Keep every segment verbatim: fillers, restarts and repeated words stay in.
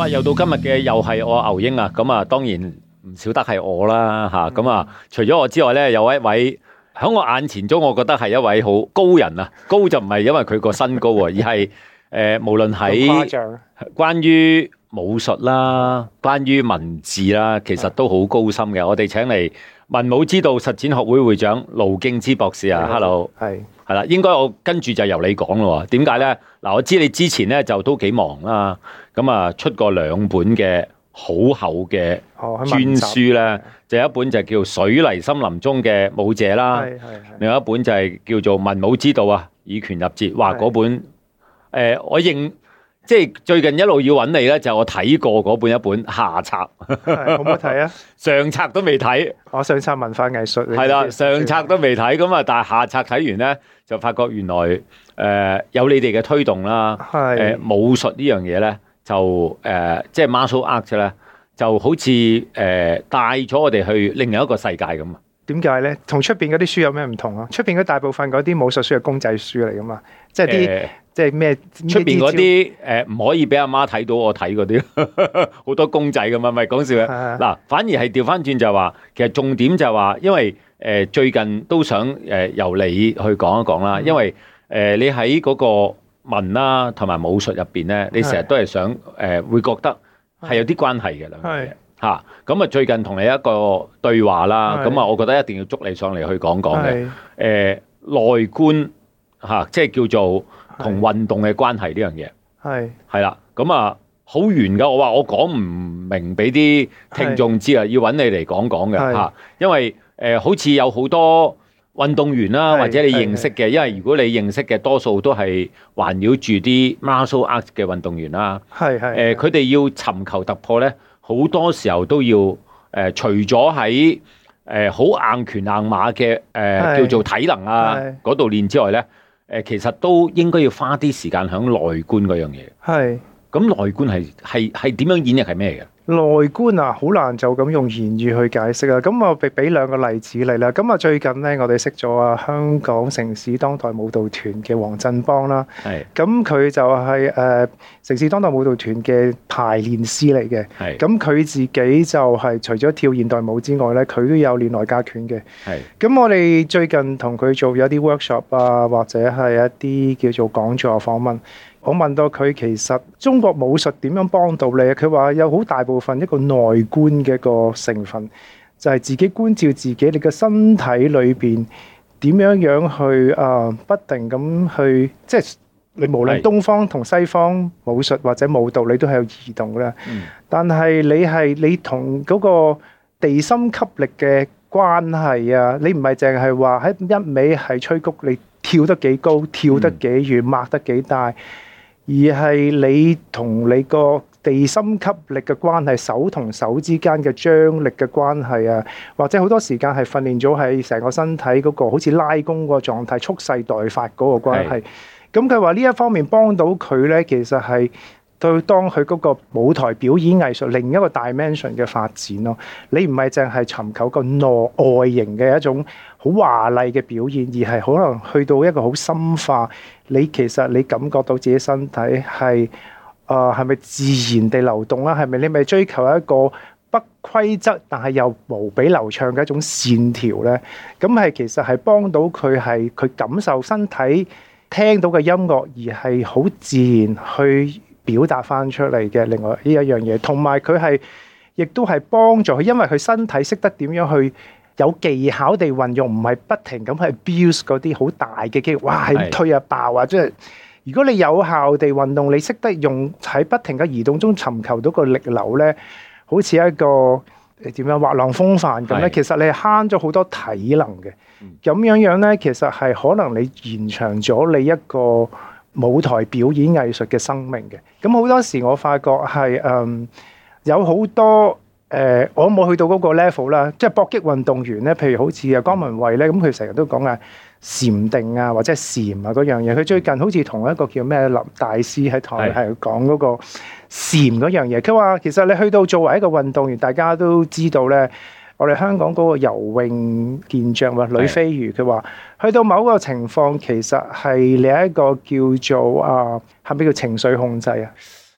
啊，又到今日嘅又係我牛英啊，咁啊當然唔少得係我啦吓，咁啊除咗我之外咧，有一位喺我眼前中，我覺得係一位好高人啊，高就唔係因為佢個身高啊，而係誒、呃、無論喺關於武術啦，關於文字啦，其實都好高深嘅。我哋請嚟文武之道實踐學會會長盧敬之博士啊 ，Hello，係係啦，應該我跟住就由你講咯。點解咧？嗱，我知你之前咧就都幾忙啦，咁啊出過兩本嘅好厚嘅專書咧，就有一本就叫《水泥森林中嘅武者》啦，另外一本就係叫做《文武之道》啊，以拳入節。哇，嗰本誒、呃，我認。即係最近一路要揾你咧，就我睇過嗰本一本下冊， 好唔好睇啊？ 上冊都未睇， 我上冊文化藝術係啦，上冊都未睇，咁啊，但係下冊睇完咧，就發覺原來誒、呃、有你哋嘅推動啦，誒、呃、武術呢樣嘢咧，就誒、呃、即係 martial art 咧，就好似誒、呃、帶咗我哋去另一個世界咁啊！ 點解咧？同出邊嗰啲書有咩唔同啊？出邊嗰大部分嗰啲武術書係公仔書嚟噶嘛，即係啲。呃即係咩？ 出邊嗰啲誒唔可以俾阿媽睇到我睇嗰啲，好多公仔咁啊！咪講笑啊！嗱，反而係調翻轉就係話，其實重點就係話，因為誒、呃、最近都想誒、呃、由你去講一講啦，因為誒、呃、你喺嗰個文啦同埋武術入邊咧，你成日都係想誒、呃、會覺得係有啲關係嘅兩樣嘢嚇。咁啊，最近同你一個對話啦，咁啊，我覺得一定要捉你上嚟去講講嘅誒、呃、內觀嚇、啊，即係叫做。同運動嘅關係呢樣嘢係係啦，咁啊好圓噶。我話我講唔明俾啲聽眾知啊，要揾你嚟講講嘅嚇。因為誒、呃、好似有好多運動員啦，或者你認識嘅，因為如果你認識嘅多數都係環繞住啲 martial art 嘅運動員啦。係係誒，佢哋要尋求突破咧，好多時候都要誒、呃，除咗喺誒好硬拳硬馬嘅誒、呃、叫做體能啊嗰度練之外咧。誒，其實都應該要花啲時間喺內觀嗰樣嘢。係，咁內觀係係係點樣演繹係咩嘅？內觀啊，好難就咁用言語去解釋啊。咁我俾俾兩個例子嚟啦。咁啊，最近咧，我哋識咗啊香港城市當代舞蹈團嘅黃振邦啦。係。咁佢就係、是、誒、呃、城市當代舞蹈團嘅排練師嚟嘅。係。咁佢自己就係除咗跳現代舞之外咧，佢都有練內家拳嘅。係。咁我哋最近同佢做咗啲 workshop 啊，或者係一啲叫做講座訪問。我問到佢其實中國武術點樣幫到你？佢話有好大部分一個內觀嘅一個成分，就係、是、自己觀照自己，你嘅身體裏邊點樣樣去啊、呃，不停咁去，即係你無論東方同西方武術或者舞蹈，你都係有移動嘅。嗯、但係你係你同嗰個地心吸力嘅關係啊，你唔係淨係話喺一味係吹谷，你跳得幾高，跳得幾遠，擘得幾大。而係你同你個地心吸力嘅關係，手同手之間嘅張力嘅關係啊，或者好多時間係訓練咗喺成個身體嗰個好似拉弓個狀態，蓄勢待發嗰個關係。咁佢話呢一方面幫到佢咧，其實係對當佢嗰個舞台表演藝術另一個 dimension 嘅發展咯。你唔係淨係尋求個內外形嘅一種好華麗嘅表現，而係可能去到一個好深化。你其實你感覺到自己身體係誒係咪自然地流動啦？係咪你咪追求一個不規則但係又無比流暢嘅一種線條咧？咁係其實係幫到佢係佢感受身體聽到嘅音樂，而係好自然去表達翻出嚟嘅。另外呢一樣嘢，同埋佢係亦都係幫助佢，因為佢身體識得點樣去。有技巧地運用，唔係不停咁去 abuse 嗰啲好大嘅肌肉，哇！係推啊爆啊！即係如果你有效地運動，你識得用喺不停嘅移動中尋求到個力流咧，好似一個點樣滑浪風帆咁咧。其實你係慳咗好多體能嘅。咁樣樣咧，其實係可能你延長咗你一個舞台表演藝術嘅生命嘅。咁好多時我發覺係嗯有好多。誒、呃，我冇去到嗰個 level 啦，即係搏擊運動員咧，譬如好似啊江文慧咧，咁佢成日都講啊禪定啊，或者係禪啊嗰樣嘢。佢最近好似同一個叫咩林大師喺台係講嗰個禪嗰樣嘢。佢話其實你去到作為一個運動員，大家都知道咧，我哋香港嗰個游泳健將或呂飛魚，佢話去到某個情況，其實係你一個叫做啊，係咪叫情緒控制啊？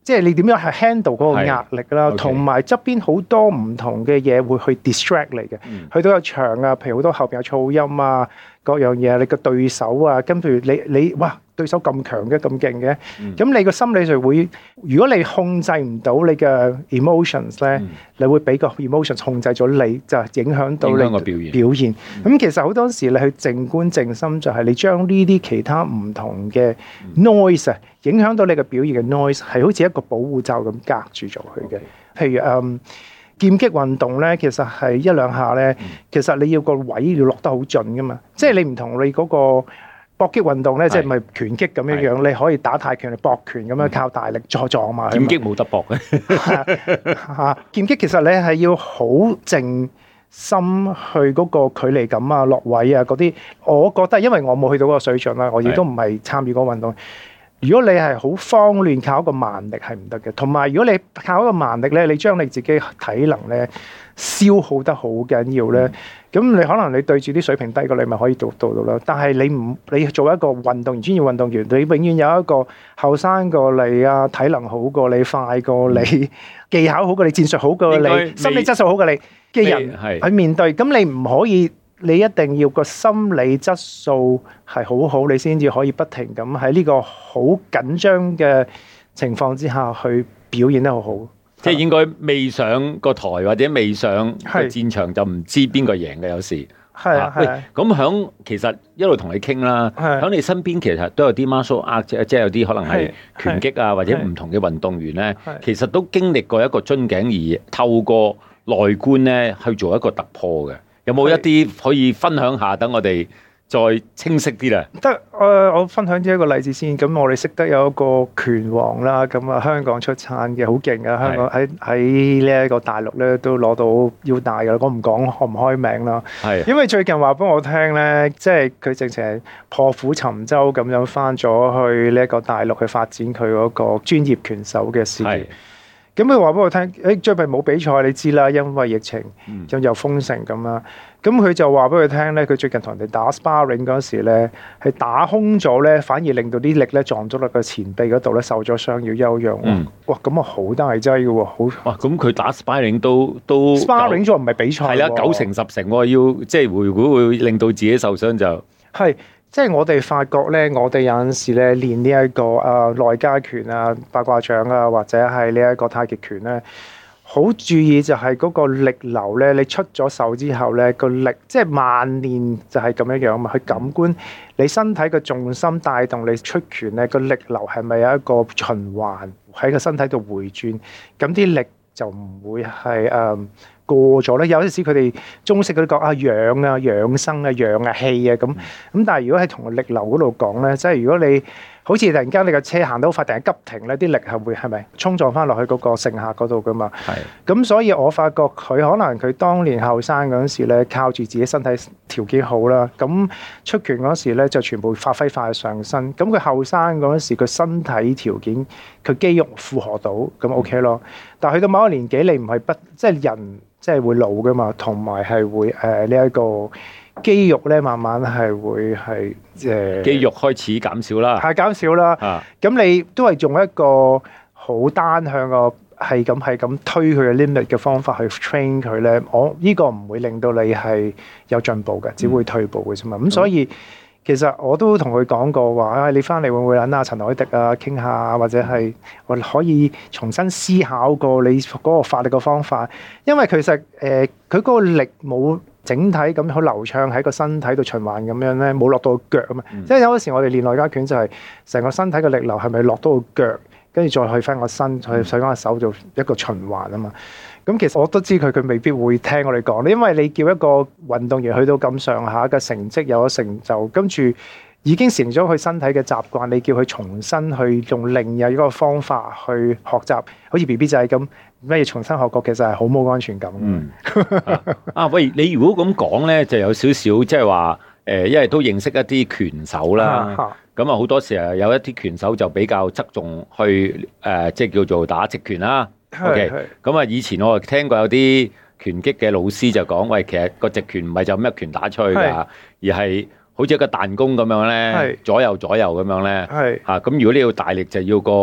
即係你點樣係 handle 嗰個壓力啦，同埋側邊好多唔同嘅嘢會去 distract 你嘅。嗯、去到個場啊，譬如好多後邊有噪音啊，各樣嘢，你個對手啊，跟住你你哇對手咁強嘅咁勁嘅，咁、嗯、你個心理就會，如果你控制唔到你嘅 emotions 咧，嗯、你會俾個 emotions 控制咗你，就影響到你嘅表現。表現咁、嗯、其實好多時你去靜觀靜心，就係你將呢啲其他唔同嘅 noise 啊。影響到你嘅表現嘅 noise 係好似一個保護罩咁隔住咗佢嘅。譬如嗯劍擊運動咧，其實係一兩下咧，其實你要個位要落得好準噶嘛。即係你唔同你嗰個搏擊運動咧，即係咪拳擊咁樣樣，你可以打太極嚟搏拳咁樣靠大力再撞嘛。 劍擊冇得搏嘅。 嚇！劍擊其實你係要好靜心去嗰個距離感啊、落位啊嗰啲。我覺得因為我冇去到嗰個水準啦，我亦都唔係參與嗰個運動。如果你係好慌亂，靠一個慢力係唔得嘅。同埋如果你靠一個慢力咧，你將你自己體能咧消耗得好緊要咧，咁、嗯、你可能你對住啲水平低過你，咪可以做到到啦。但係你唔你做一個運動員、專業運動員，你永遠有一個後生過你啊，體能好過你、快過你、嗯、技巧好過你、戰術好過你、心理質素好過你嘅人去面對。咁你唔可以。你一定要個心理質素係好好，你先至可以不停咁喺呢個好緊張嘅情況之下去表現得好好。 即係應該未上個台或者未上個戰場就唔知邊個贏嘅有時。 係啊， 喂，咁響其實一路同你傾啦，響你身邊其實都有啲 martial art，即係有啲可能係拳擊啊或者唔同嘅運動員咧，其實都經歷過一個樽頸而透過內觀咧去做一個突破嘅。有冇一啲可以分享下，等我哋再清晰啲咧？ 得，誒、呃，我分享咗一個例子先。咁我哋識得有一個拳王啦，咁啊香港出產嘅，好勁嘅。香港喺喺呢一個大陸咧都攞到腰帶嘅。我唔講開唔開名啦。係的。因為最近話俾我聽咧，即係佢直情係破釜沉舟咁樣翻咗去呢一個大陸去發展佢嗰個專業拳手嘅事業。咁佢話俾我聽，誒最近冇比賽，你知啦，因為疫情，咁又封城咁啦。咁佢就話俾佢聽咧，佢最近同人哋打 sparring 嗰時咧，係打空咗咧，反而令到啲力咧撞咗落個前臂嗰度咧，受咗傷要休養。嗯、哇，咁啊好大劑嘅喎，好哇！咁佢打 sparring 都都 sparring 咗唔係比賽， 係啦，九成十成喎，要即係會會會令到自己受傷就係。即係我哋發覺咧，我哋有陣時咧練呢、這、一個啊內家拳啊、八卦掌啊，或者係呢一個太極拳咧，好注意就係嗰個力流咧。你出咗手之後咧，個力即係慢練就係咁樣樣嘛。去感官你身體嘅重心帶動你出拳咧，個力流係咪有一個循環喺個身體度回轉？咁啲力就唔會係誒。嗯過咗咧，有陣時佢哋中式嗰啲講啊養啊養生啊養啊氣啊咁咁，但係如果喺同個力流嗰度講咧，即係如果你好似突然間你個車行到快，突然急停咧，啲力係會係咪衝撞翻落去嗰個乘客嗰度噶嘛？係。咁所以我發覺佢可能佢當年後生嗰陣時咧，靠住自己身體條件好啦，咁出拳嗰時咧就全部發揮快上身。咁佢後生嗰陣時，佢身體條件佢肌肉負荷到，咁 OK 咯。但係去到某一個年紀，你唔係不即係人。即係會老噶嘛，同埋係會誒呢一個肌肉咧，慢慢係會係誒、呃、 肌肉開始減少啦， 係減少啦。咁、啊、你都係用一個好單向個係咁係咁推佢嘅 limit 嘅方法去 train 佢咧，我呢、這個唔會令到你係有進步嘅，只會退步嘅啫嘛。咁、嗯、所以其實我都同佢講過話，啊你翻嚟會唔會揾阿陳凱迪啊傾下，或者係我可以重新思考過你嗰個發力嘅方法，因為其實誒佢嗰個力冇整體咁好流暢喺個身體度循環咁樣咧，冇落到腳啊嘛。嗯、即係有時我哋練內家拳就係成個身體嘅力流係咪落到個腳，跟住再去翻個身，再去翻個手做一個循環啊嘛。咁其實我都知佢佢未必會聽我哋講，因為你叫一個運動員去到咁上下嘅成績有咗成就，跟住已經成咗佢身體嘅習慣，你叫佢重新去用另一個方法去學習，好似 B B 仔咁咩重新學過，其實係好冇安全感。嗯啊，啊，喂，你如果咁講咧，就有少少即係話誒，因為都認識一啲拳手啦，咁啊好多時候有一啲拳手就比較側重去誒、呃，即係叫做打直拳啦。OK，咁啊，以前我聽過有啲拳擊嘅老師就講，喂，其實個直拳唔係就咁一拳打出去㗎，而係好似一個彈弓咁樣咧，左右左右咁樣咧，嚇咁如果你要大力就要個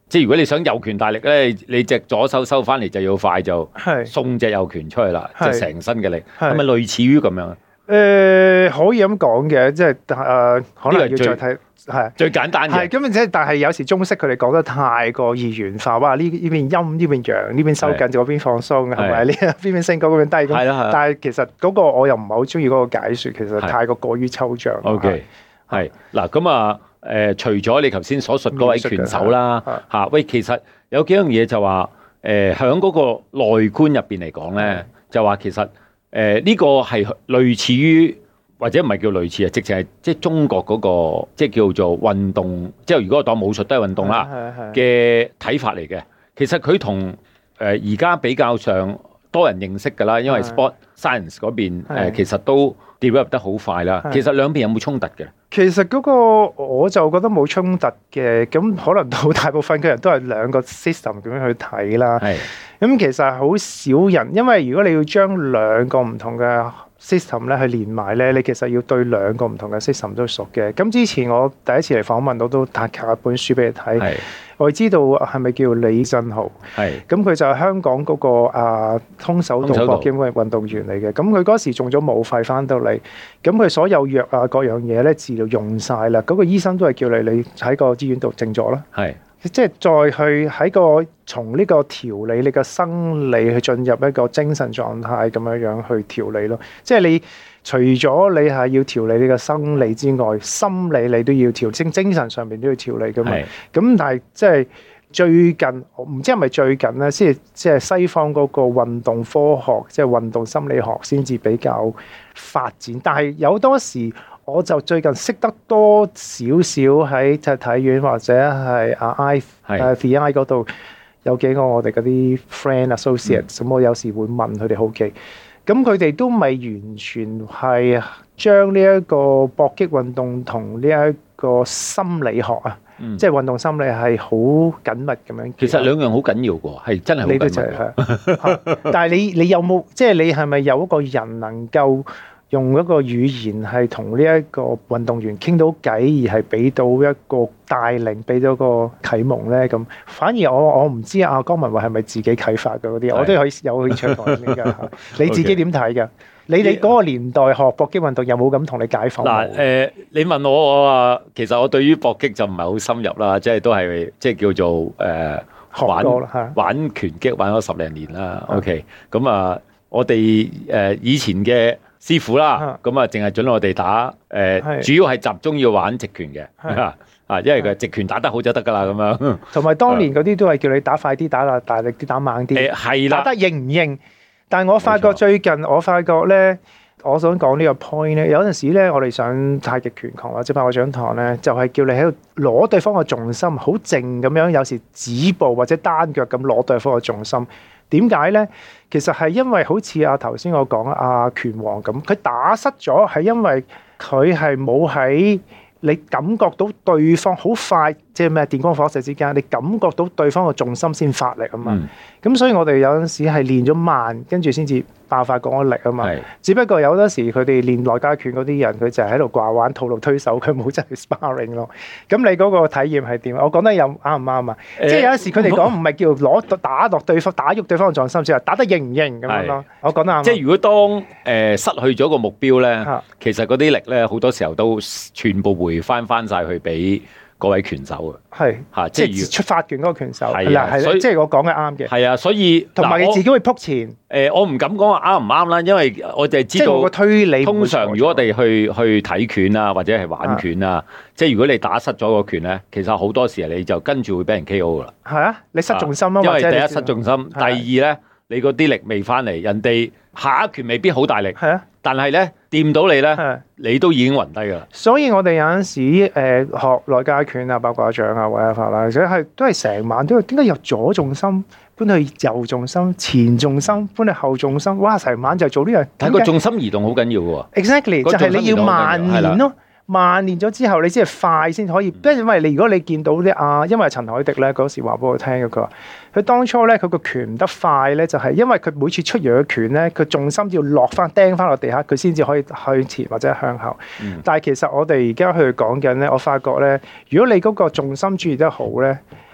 即係如果你想右拳大力咧，你隻左手收翻嚟就要快，就送隻右拳出去啦，即係成身嘅力，係咪類似於咁樣啊？ 誒、呃、可以咁講嘅，即係誒、呃、可能要再睇係最簡單嘅。係咁，即係但係有時中式佢哋講得太過二元化，哇！呢呢邊陰，呢邊陽，呢邊收緊，嗰邊放鬆，係咪？呢邊邊升高，嗰邊低咁。係啦，但係其實嗰個我又唔係好中意嗰個解説，其實太過過於抽象。 OK，係嗱咁啊誒，除咗你頭先所述嗰位拳手啦嚇，喂，其實有幾樣嘢就話誒，喺嗰個內觀入邊嚟講咧，就話其實。誒呢、呃這個係類似於或者唔係叫類似啊，直情係即係中國嗰、那個即係叫做運動，即係如果我當武術都係運動啦嘅睇法嚟嘅。其實佢同誒而家比較上多人認識㗎啦，因為 sport science 嗰邊、呃、其實都 develop 得好快啦。其實兩邊有冇衝突嘅？ 其實嗰個我就覺得冇衝突嘅，咁可能到大部分嘅人都係兩個 system 咁樣去睇啦。係，咁其實好少人，因為如果你要將兩個唔同嘅 system 咧去連埋咧，你其實要對兩個唔同嘅 system 都熟嘅。咁之前我第一次嚟訪問，我都帶一本書俾你睇。我知道係咪叫李振豪？係，咁佢就係香港嗰、那個啊空手道搏擊嘅運動員嚟嘅。咁佢嗰時中咗武肺翻到嚟，咁佢所有藥啊各樣嘢咧治療用晒啦。嗰、那個醫生都係叫你你喺個醫院度靜咗啦。係，即係再去喺個從呢個調理你嘅生理去進入一個精神狀態咁樣樣去調理咯。即係你。除咗你係要調理你嘅生理之外，心理你都要調，精精神上面都要調理噶嘛。咁但係即係最近，唔知係咪最近咧，先即係西方嗰個運動科學，即係運動心理學先至比較發展。但係有多時，我就最近識得多少少喺即係體院或者係啊 I 誒 V I 嗰度有幾個我哋嗰啲 friend associates，咁、嗯、我有時會問佢哋好奇。咁佢哋都未完全係將呢一個搏擊運動同呢一個心理學啊，嗯、即係運動心理係好緊密咁樣。其實兩樣好緊要嘅，係真係好緊密。你都就係，但係你你有冇即係你係咪有一個人能夠用一個語言係同呢一個運動員傾到偈，而係俾到一個帶領，俾到個啟蒙咧？咁反而我我唔知阿江文慧係咪自己啟發嘅嗰啲，我都可以有興趣同你傾㗎。你自己點睇㗎？你你嗰個年代學搏擊運動有冇咁同你解放？嗱，誒，你問我我話，其實我對於搏擊就唔係好深入啦，即係都係即係叫做誒玩玩拳擊玩咗十零年啦。OK，咁啊，我哋誒以前嘅師傅啦，咁啊，淨係准我哋打誒，呃、主要係集中要玩直拳嘅，啊，因為佢直拳打得好就得噶啦，咁樣。同埋當年嗰啲都係叫你打快啲、打大力啲、打猛啲。誒係啦，打得認唔認？但係我發覺最近，我發覺咧，我想講呢個 point 咧，有陣時咧，我哋上太極拳堂或者八卦掌堂咧，就係、是、叫你喺度攞對方嘅重心，好靜咁樣，有時止步或者單腳咁攞對方嘅重心。點解咧？其實係因為好似阿頭先我講阿拳王咁，佢打失咗係因為佢係冇喺你感覺到對方好快，即係咩電光火石之間，你感覺到對方嘅重心先發力啊嘛。咁、嗯、所以我哋有陣時係練咗慢，跟住先至爆發嗰個力啊嘛。是只不過有陣時佢哋練內家拳嗰啲人，佢就係喺度掛玩套路推手，佢冇真係 sparring 咯。咁你嗰個體驗係點？我講得有啱唔啱啊？欸、即係有陣時佢哋講唔係叫攞打落對方，打喐對方嘅重心，只係打得認唔認咁樣咯。是我講得啱。即係如果當誒、呃、失去咗個目標咧，是其實嗰啲力咧好多時候都全部回翻翻晒去俾嗰位拳手啊，係嚇，即係出發拳嗰個拳手，係啦，係啦，即係我講嘅啱嘅，係啊，所以同埋你自己會撲前，誒、呃，我唔敢講話啱唔啱啦，因為我就係知道個推理。通常如果我哋去去睇拳啊，或者係玩拳啊，即係如果你打失咗個拳咧，其實好多時你就跟住會俾人 K O 噶啦。係啊，你失重心啊，因為第一失重心，第二咧你嗰啲力未翻嚟，人哋下一拳未必好大力，係啊。但係咧掂到你咧，的你都已經暈低噶啦。所以我哋有陣時誒、呃、學內家拳啊、八卦掌啊、或者法啦，或者係都係成晚都要點解由左重心搬去右重心、前重心搬去後重心？哇！成晚就做呢樣。但係個重心移動好緊要嘅喎。Exactly，就係你要慢練咯。慢練咗之後，你先係快先可以。因為你如果你見到啲啊，因為陳凱迪咧嗰時話俾我聽嘅，佢話佢當初咧佢個拳唔得快咧，就係因為佢每次出完嘅拳咧，佢重心要落翻釘翻落地下，佢先至可以向前或者向後。嗯、但係其實我哋而家去講緊咧，我發覺咧，如果你嗰個重心注意得好咧，係。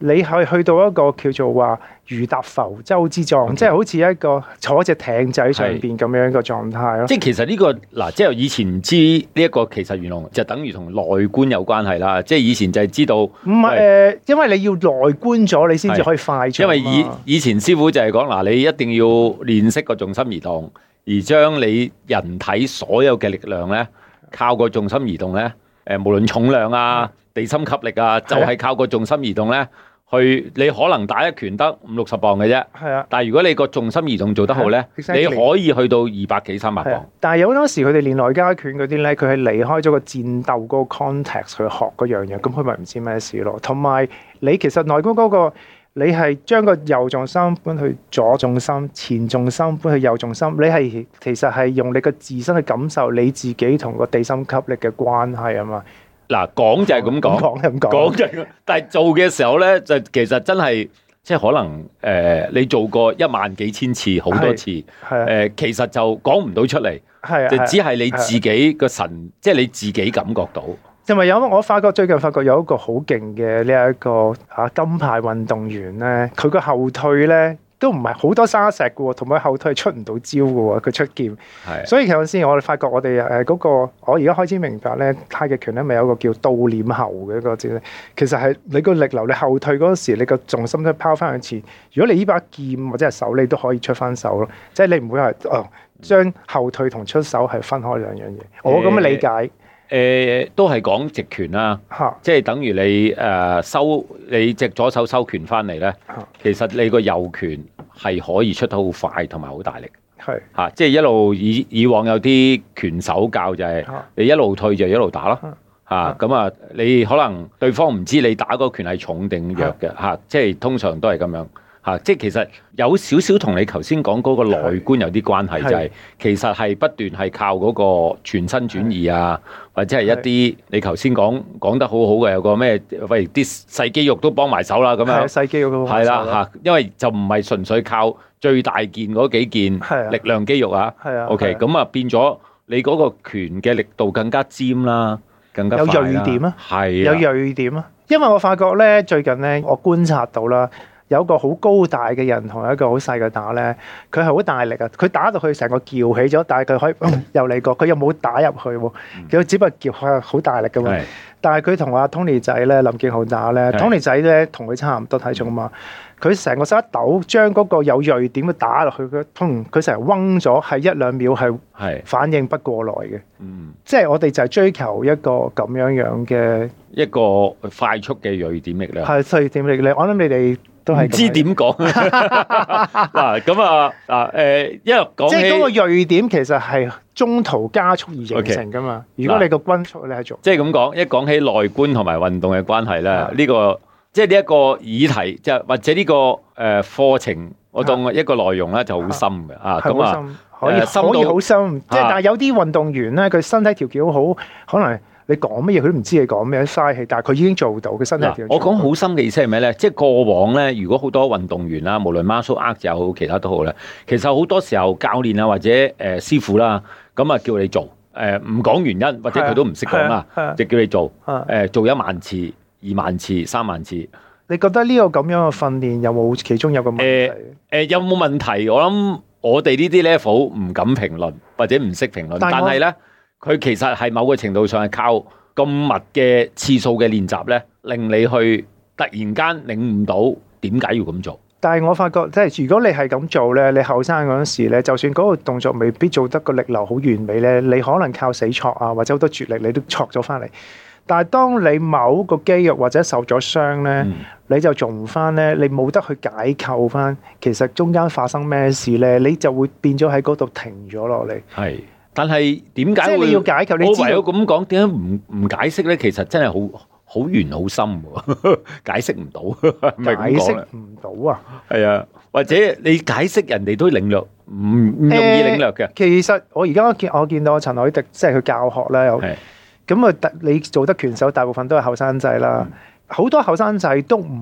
你去去到一個叫做話如踏浮舟之狀， Okay. 即係好似一個坐隻艇仔上邊咁樣一個狀態咯。 即係其實呢、這個嗱，即係以前唔知呢一個其實原來就等於同內觀有關係啦。即係以前就係知道唔係誒，因為你要內觀咗，你先至可以快速。因為以以前師傅就係講嗱，你一定要練識個重心移動，而將你人體所有嘅力量咧，靠個重心移動咧，誒，無論重量啊、地心吸力啊，就係、是、靠個重心移動咧。去你可能打一拳得五六十磅嘅啫，係啊。但係如果你個重心移動做得好咧，exactly. 你可以去到二百幾三百磅。但係有好多時佢哋練內家拳嗰啲咧，佢係離開咗個戰鬥嗰個 context 去學嗰樣嘢，咁佢咪唔知咩事咯。同埋你其實內觀嗰個，你係將個右重心搬去左重心，前重心搬去右重心，你係其實係用你個自身去感受你自己同個地心吸力嘅關係啊嘛。嗱，講就係咁講，講咁講，講就係，但係做嘅時候咧，就其實真係即係可能誒、呃，你做過一萬幾千次好多次，誒、呃，其實就講唔到出嚟，係就只係你自己個神，即係你自己感覺到。因為有我發覺最近發覺有一個好勁嘅呢一個啊金牌運動員咧，佢個後退咧。都唔係好多沙石嘅喎，同埋後退係出唔到招嘅喎，佢出劍。係的，所以其實先我哋發覺我哋誒嗰個，我而家開始明白咧，太極拳咧咪有個叫倒攆後嘅一個字咧。其實係你個力流，你後退嗰時，你個重心都拋翻去前。如果你呢把劍或者係手，你都可以出翻手咯。即係你唔會係哦，將後退同出手係分開兩樣嘢。我咁嘅理解。欸誒、呃、都係講直拳啦，哈即係等於你誒、呃、收你隻左手收拳翻嚟咧，哈其實你個右拳係可以出得好快同埋好大力，係嚇是、啊，即係一路以以往有啲拳手教就係你一路退就一路打咯，嚇咁啊，你可能對方唔知你打嗰拳係重定弱嘅嚇哈、啊，即係通常都係咁樣。嚇！即係其實有少少同你頭先講嗰個內觀有啲關係，就係其實係不斷係靠嗰個全身轉移啊，或者係一啲你頭先講講得好好嘅有個咩，喂啲細肌肉都幫埋手啦咁樣。細肌肉都係啦嚇，因為就唔係純粹靠最大件嗰幾件力量肌肉啊。係啊。OK，咁啊變咗你嗰個拳嘅力度更加尖啦，更加有鋭點啊。係有鋭點啊，因為我發覺咧最近咧我觀察到啦。有個好高大嘅人同一個好細嘅打咧，佢係好大力啊！佢打到佢成個翹起咗，但係佢可以、嗯、又嚟過，佢又冇打入去喎。佢只不過翹係好大力噶嘛。是但係佢同阿 Tony 仔咧、林敬浩打咧是，Tony 仔咧同佢差唔多體重啊嘛。佢成個手一抖，將嗰個有鋭點嘅打落去，佢通佢成日嗡咗，係一兩秒係反應不過來嘅。嗯，即係我哋就係追求一個咁樣樣嘅一個快速嘅鋭點力量。係鋭點力量，我諗你哋。都係唔知點講嗱咁啊嗱誒，因為講起即係嗰個鋭點其實係中途加速而形成噶嘛。Okay. 如果你個均速你係做，即係咁講，一講起內觀同埋運動嘅關係咧，呢、這個即係呢一個議題，即係或者呢、這個誒課程，我當一個內容咧就好深嘅啊。咁啊，可以可以好深，即係、啊、但係有啲運動員咧，佢身體條件好，可能。你講乜嘢佢都唔知你講咩，嘥氣。但係佢已經做到嘅身體。我講好深嘅意思係咩咧？即係過往咧，如果好多運動員啦，無論 martial art 又好，其他都好咧，其實好多時候教練啊或者誒、呃、師傅啦，咁啊叫你做誒唔講原因，或者佢都唔識講啦，啊啊啊、就叫你做誒、呃、做一萬次、二萬次、三萬次。你覺得呢個咁樣嘅訓練有冇其中有個問題？誒、呃呃、有冇問題？我諗我哋呢啲 level 唔敢評論，或者唔識評論，但係咧。佢其實係某個程度上係靠咁密嘅次數嘅練習咧，令你去突然間領悟到點解要咁做。但係我發覺，即係如果你係咁做咧，你後生嗰陣時咧，就算嗰個動作未必做得個力流好完美咧，你可能靠死挫啊，或者好多絕力，你都挫咗翻嚟。但係當你某個肌肉或者受咗傷咧，嗯、你就做唔翻咧，你冇得去解構翻，其實中間發生咩事咧，你就會變咗喺嗰度停咗落嚟。係。但係點解會？你要解構，你我唯有咁講，點解唔唔解釋咧？其實真係好好遠好深喎，解釋唔到。解釋唔到啊？係啊，或者你解釋人哋都領略，唔唔容易領略嘅。其實我而家見我見到陳凱迪，即係佢教學咧，有咁啊，你做得拳手，大部分都係後生仔啦。好多後生仔都唔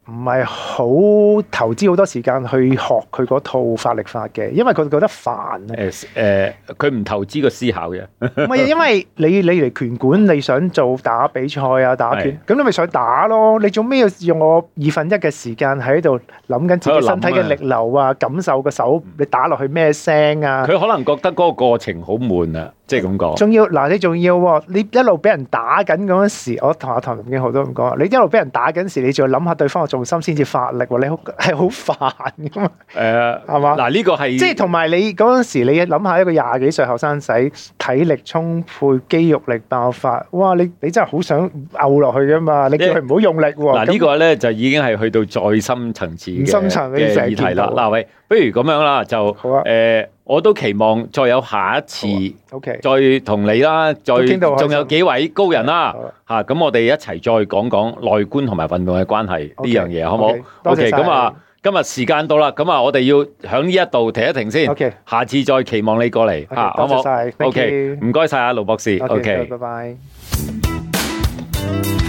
唔係好投資好多時間去學佢嗰套發力法嘅，因為佢覺得煩啊。 誒誒，佢唔投資個思考嘅。 唔係，因為你你嚟拳館，你想做打比賽啊、打拳，咁你咪上去打咯。你做咩要用我二分一嘅時間喺度諗緊自己身體嘅力流啊，感受個手你打落去咩聲啊？ 佢可能覺得嗰個過程好悶啊，即係咁講。仲要嗱，你仲要喎，你一路俾人打緊嗰陣時，我同阿唐林經浩都咁講，你一路俾人打緊時，你仲要諗下對方嘅重心先至發力喎，你好係好煩噶嘛？誒，係嘛？嗱，呢個係即係同埋你嗰陣時，你諗下一個廿幾歲後生仔，體力充沛、肌肉力爆發，哇！你你真係好想嘔落去噶嘛？你叫佢唔好用力喎。嗱，呢個咧就已經係去到再深層次嘅深層嘅議題啦。嗱，喂，不如咁樣啦，就誒，我都期望再有下一次，OK，再同你啦，再仲有幾位高人啦，嚇，咁我哋一齊再講講內觀同埋運動嘅關係呢樣嘢，好唔好？OK，咁啊。今日時間到啦，咁啊，我哋要喺呢一度停一停先。OK，下次再期望你過嚟吓，好唔好？OK，唔該晒啊，盧博士。OK，拜拜。